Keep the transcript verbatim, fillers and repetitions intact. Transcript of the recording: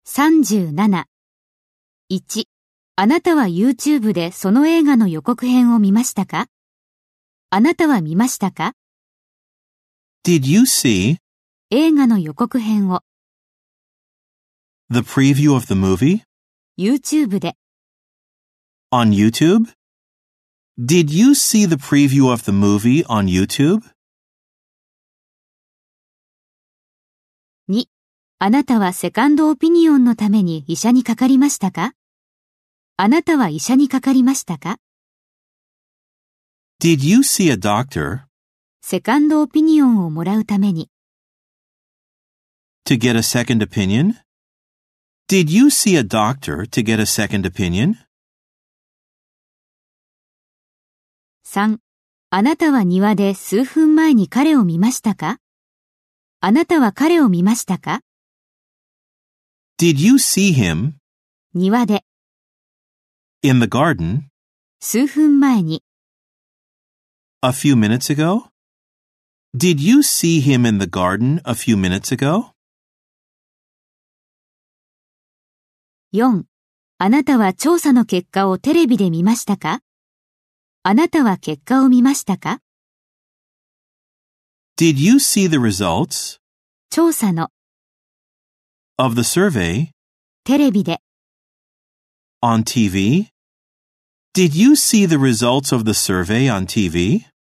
さんじゅうなな。いち、あなたは YouTube でその映画の予告編を見ましたか？あなたは見ましたか？ Did you see 映画の予告編を the preview of the movie YouTube で on YouTube? Did you see the preview of the movie on YouTube? に、あなたはセカンドオピニオンのために医者にかかりましたか？あなたは医者にかかりましたか？ Did you see a doctor セカンドオピニオンをもらうために to get a second opinion? Did you see a doctor to get a second opinion? さん、あなたは庭で数分前に彼を見ましたか？あなたは彼を見ましたか？ Did you see him 庭で in the garden 数分前に a few minutes ago? Did you see him in the garden a few minutes ago? よん、あなたは調査の結果をテレビで見ましたか？あなたは結果を見ましたか？ Did you see the results 調査の of the survey テレビで on T V? Did you see the results of the survey on T V?